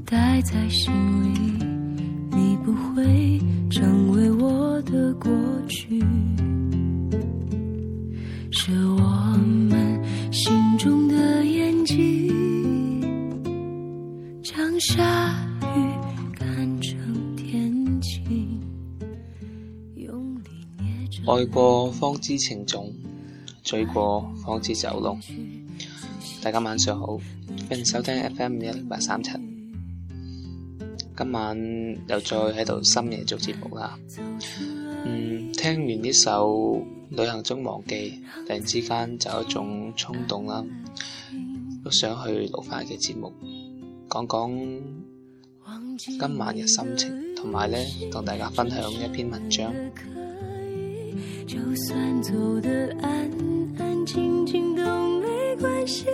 待在心里，你不会成为我的过去，是我们心中的眼睛，将下雨看成天晴，用力捏着愛過方知情重，醉過方知酒濃。大家晚上好，歡迎收聽 FM10837。今晚又再喺度深夜做節目啦。聽完呢首《旅行中忘記》，突然之間就有一種衝動啦，都想去錄翻嘅節目，講講今晚嘅心情，同埋呢同大家分享一篇文章。 就算走得安安靜靜都沒關係。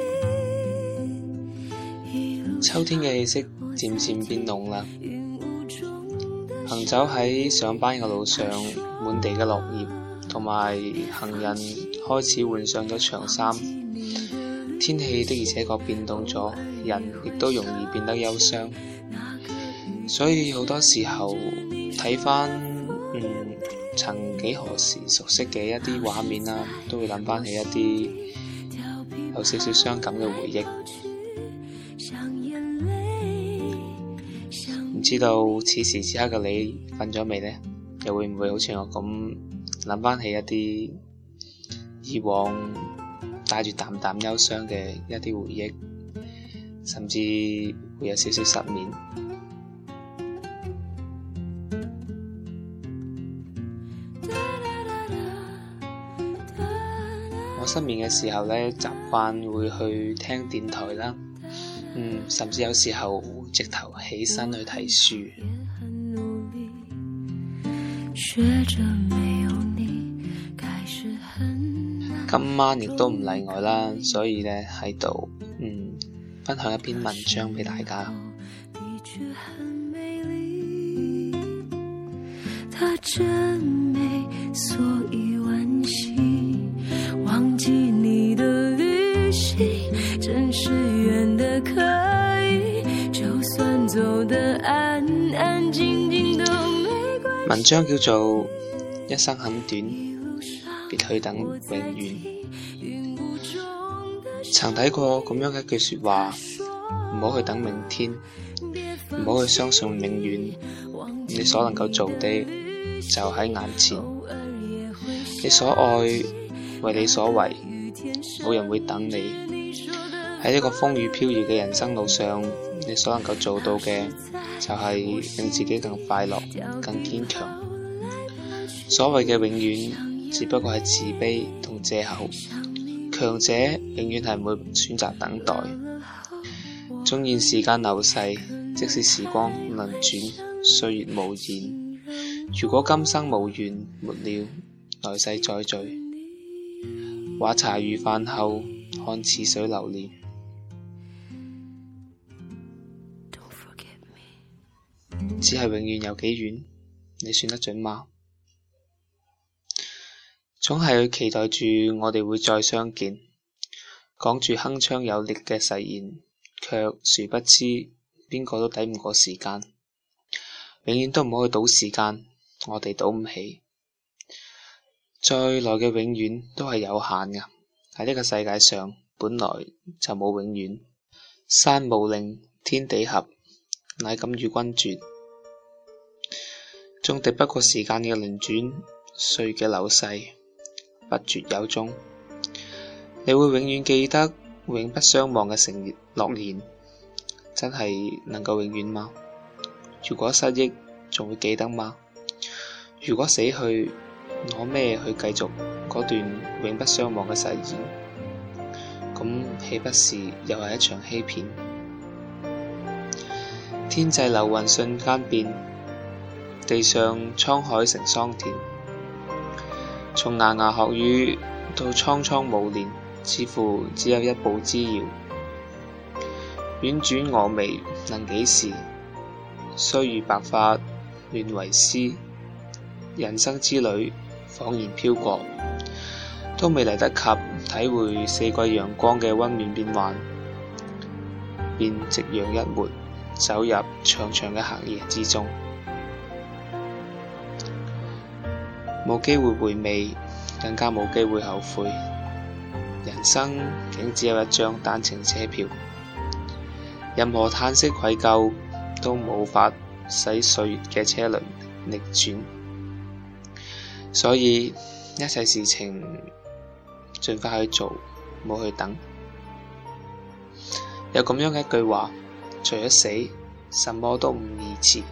秋天嘅氣息漸漸變濃啦，行走喺上班嘅路上，滿地嘅落葉，同埋行人開始換上咗長衫。天氣的而且確變動咗，人亦都容易變得憂傷。所以好多時候睇返曾幾何時熟悉嘅一啲畫面啦，都會諗翻起一啲有少少傷感嘅回憶。唔知道此時此刻嘅你瞓咗未呢？又會唔會好似我咁諗翻起一啲以往帶住淡淡憂傷嘅一啲回憶，甚至會有少少失眠。我失眠嘅時候呢，習慣會去聽電台啦，甚至有時候會直頭起身去睇書。今晚亦都唔例外啦，所以呢喺度分享一篇文章俾大家。 它真美，所以惋惜，忘記你的旅行，真是遠的可以，就算走得安安靜靜都沒關係。 文章叫做一生很短，別去等永遠。曾睇過咁樣嘅一句說話，唔好去等明天，唔好去相信永遠，你所能夠做的就喺眼前，你所愛為你所為，冇人會等你。喺呢個風雨飄搖嘅人生路上，你所能夠做到嘅就係令自己更快樂、更堅強。所謂嘅永遠只不過係自卑同藉口，強者永遠係唔會選擇等待。縱然時間流逝，即使時光輪轉，歲月無言，如果今生無緣沒了，來世再聚。話茶餘飯後看似水流年。只係永遠有幾遠，你算得準嗎？總係期待住我哋會再相見，講住鏗鏘有力嘅誓言，卻殊不知邊個都抵唔過時間。永遠都唔好去賭時間，我哋賭唔起。再來嘅永遠都係有限㗎，喺呢個世界上本來就冇永遠。山無陵，天地合，乃敢與君絕。縱敵不過時間嘅輪轉，歲嘅流逝，不絕有終。你會永遠記得永不相忘嘅承諾言，真係能夠永遠嗎？如果失憶，仲會記得嗎？如果死去，攞咩去繼續嗰段永不相忘嘅誓言？咁豈不是又係一場欺騙？天際流雲瞬間變，地上滄海成桑田。從牙牙學語到蒼蒼暮年，似乎只有一步之遙。婉轉蛾眉能幾時？須臾白髮亂為絲。人生之旅恍然飄過，都未嚟得及體會四季陽光嘅溫暖變幻，便夕陽一抹， 走入長長嘅黑夜之中。冇機會回味，更加冇機會後悔。人生竟只有一張單程車票，任何嘆息愧疚都無法使歲月嘅車輪逆轉。所以一切事情盡快去做，冇去等。有咁樣嘅一句話，除咗死，什麼都唔宜遲。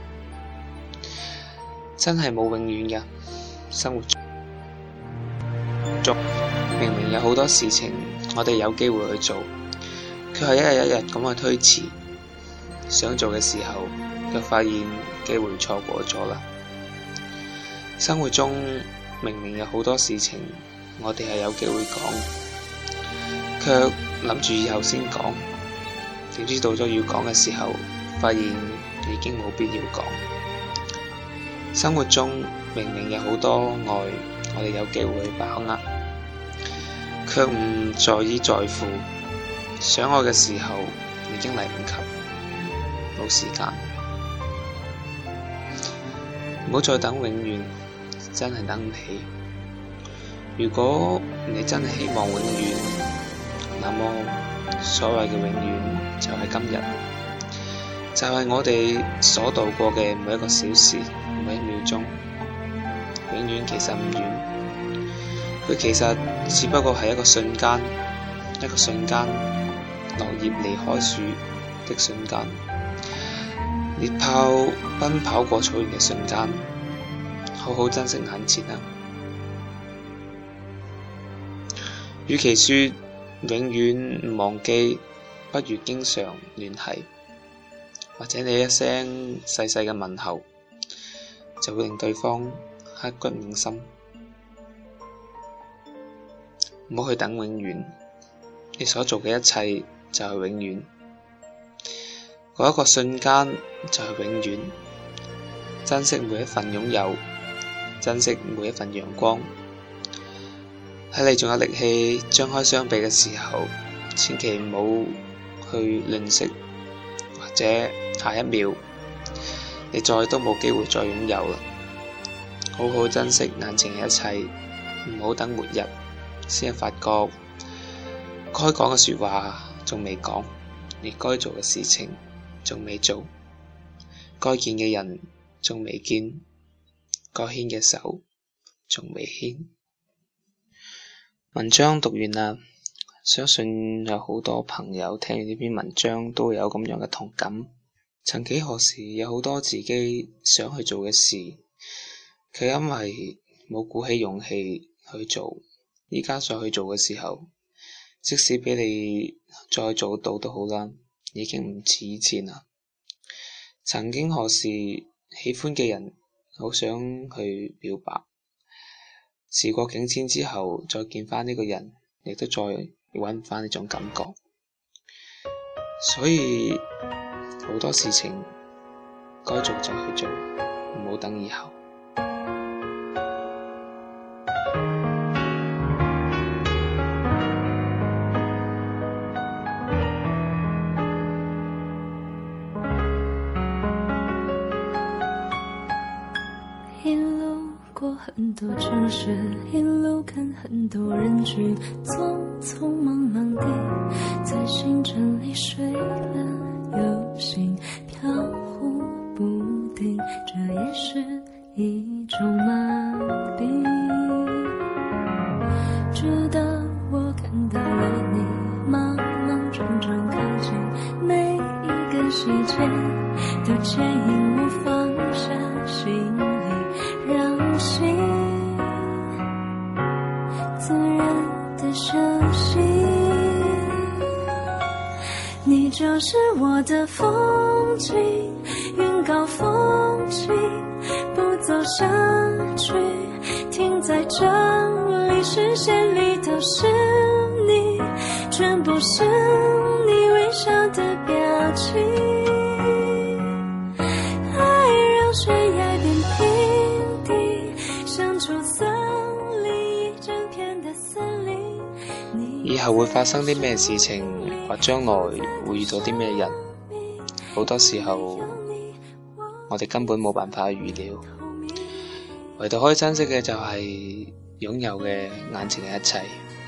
真係冇永遠嘅生活中，明明有好多事情我哋有機會去做，卻係一日一日咁去推遲。想做嘅時候，卻發現機會錯過咗啦。生活中明明有好多事情我哋係有機會講，卻諗住以後先講，點知到咗要講嘅時候，發現已經冇必要講。生活中明明有好多愛我哋有機會去把握，卻唔在意在乎。想愛嘅時候已經嚟唔及，冇時間。唔好再等永遠，真係等唔起。如果你真係希望永遠，那麼所謂嘅永遠就係今日，就係我哋所度過嘅每一個小時，每一秒鐘。永遠其實唔遠，佢其實只不過係一個瞬間，一個瞬間，落葉離開樹的瞬間，獵豹奔跑過草原嘅瞬間。好好珍惜眼前啊！與其說永遠唔忘記，不如經常聯繫，或者你一聲細細嘅問候，就會令對方刻骨銘心。唔好去等永遠，你所做嘅一切就係永遠，嗰一個瞬間就係永遠。珍惜每一份擁有，珍惜每一份陽光。喺你仲有力氣張開雙臂嘅時候，千祈唔好去吝嗇，或者下一秒你再都冇機會再擁有啦。好好珍惜眼前嘅一切，唔好等末日先發覺該講嘅說話仲未講，你該做嘅事情仲未做，該見嘅人仲未見，該牽嘅手仲未牽。文章讀完啦，相信有好多朋友聽完呢篇文章都會有咁樣嘅同感。曾幾何時有好多自己想去做嘅事，卻因為冇鼓起勇氣去做，依家再去做嘅時候，即使俾你再做到都好啦，已經唔似以前啦。曾經何時喜歡嘅人好想去表白，時過境遷之後再見返呢個人，亦都再搵唔返呢種感覺。所以好多事情該做就去做，唔好等以後。 很多城市，一路看很多人群，匆匆忙忙地在星辰里睡了又醒，飘忽不定，这也是一種麻痹。直到我看到了你莽莽撞撞靠近，每一個細節都牽引我放下行李，讓心自然的休息。你就是我的風景，雲高風輕，不走下去，停在這裡，視線裡都是你，全部是你微笑的表情。愛讓懸崖變平地，像出森林一整片的森林。 以後會發生啲咩事情，或將來會遇到啲咩人， 好多時候我哋根本冇辦法預料，唯獨可以珍惜嘅就係擁有嘅眼前嘅一切。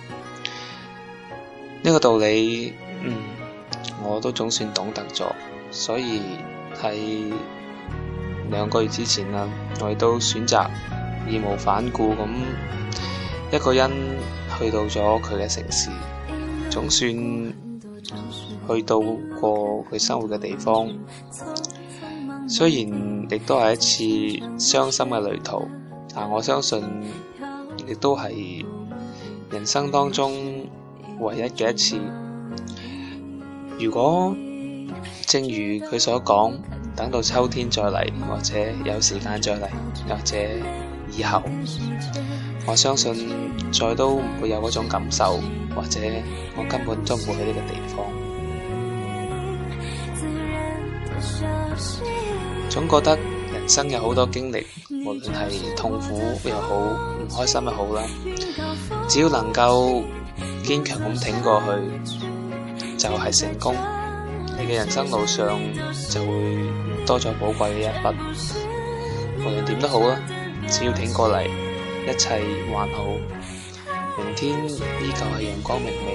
呢個道理，我都總算懂得咗，所以喺2個月之前啦，我亦都選擇義無反顧咁一個人去到咗佢嘅城市，總算去到過佢生活嘅地方。雖然亦都係一次傷心嘅旅途，但我相信亦都係人生當中唯一嘅一次。如果正如佢所講，等到秋天再嚟，或者有時間再嚟，或者以後，我相信再都唔會有嗰種感受，或者我根本都唔會去呢個地方。總覺得人生有好多經歷，無論係痛苦又好，唔開心又好啦，只要能夠堅強咁挺過去，就係成功。你嘅人生路上就會多咗寶貴嘅一筆。無論點都好啦，只要挺過嚟，一切還好，明天依舊係陽光明媚。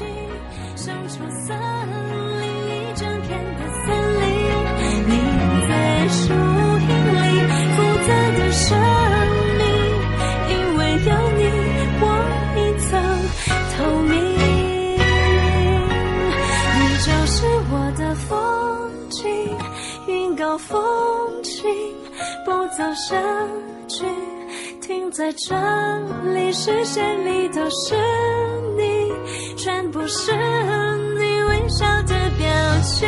樹蔭裡複雜的生命，因為有你我一層透明，你就是我的風景，雲高風輕，不走下去，停在這裡，視線裡都是你，全部是你微笑的表情。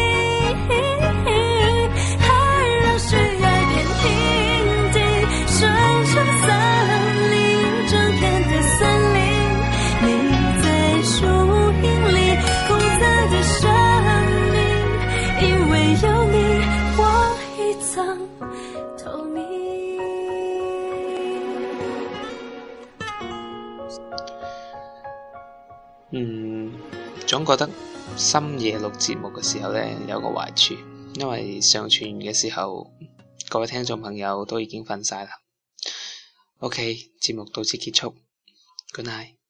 總覺得深夜錄節目嘅時候呢，有個壞處，因為上傳完嘅時候，各位聽眾朋友都已經瞓晒啦。OK， 節目到此結束，Good night。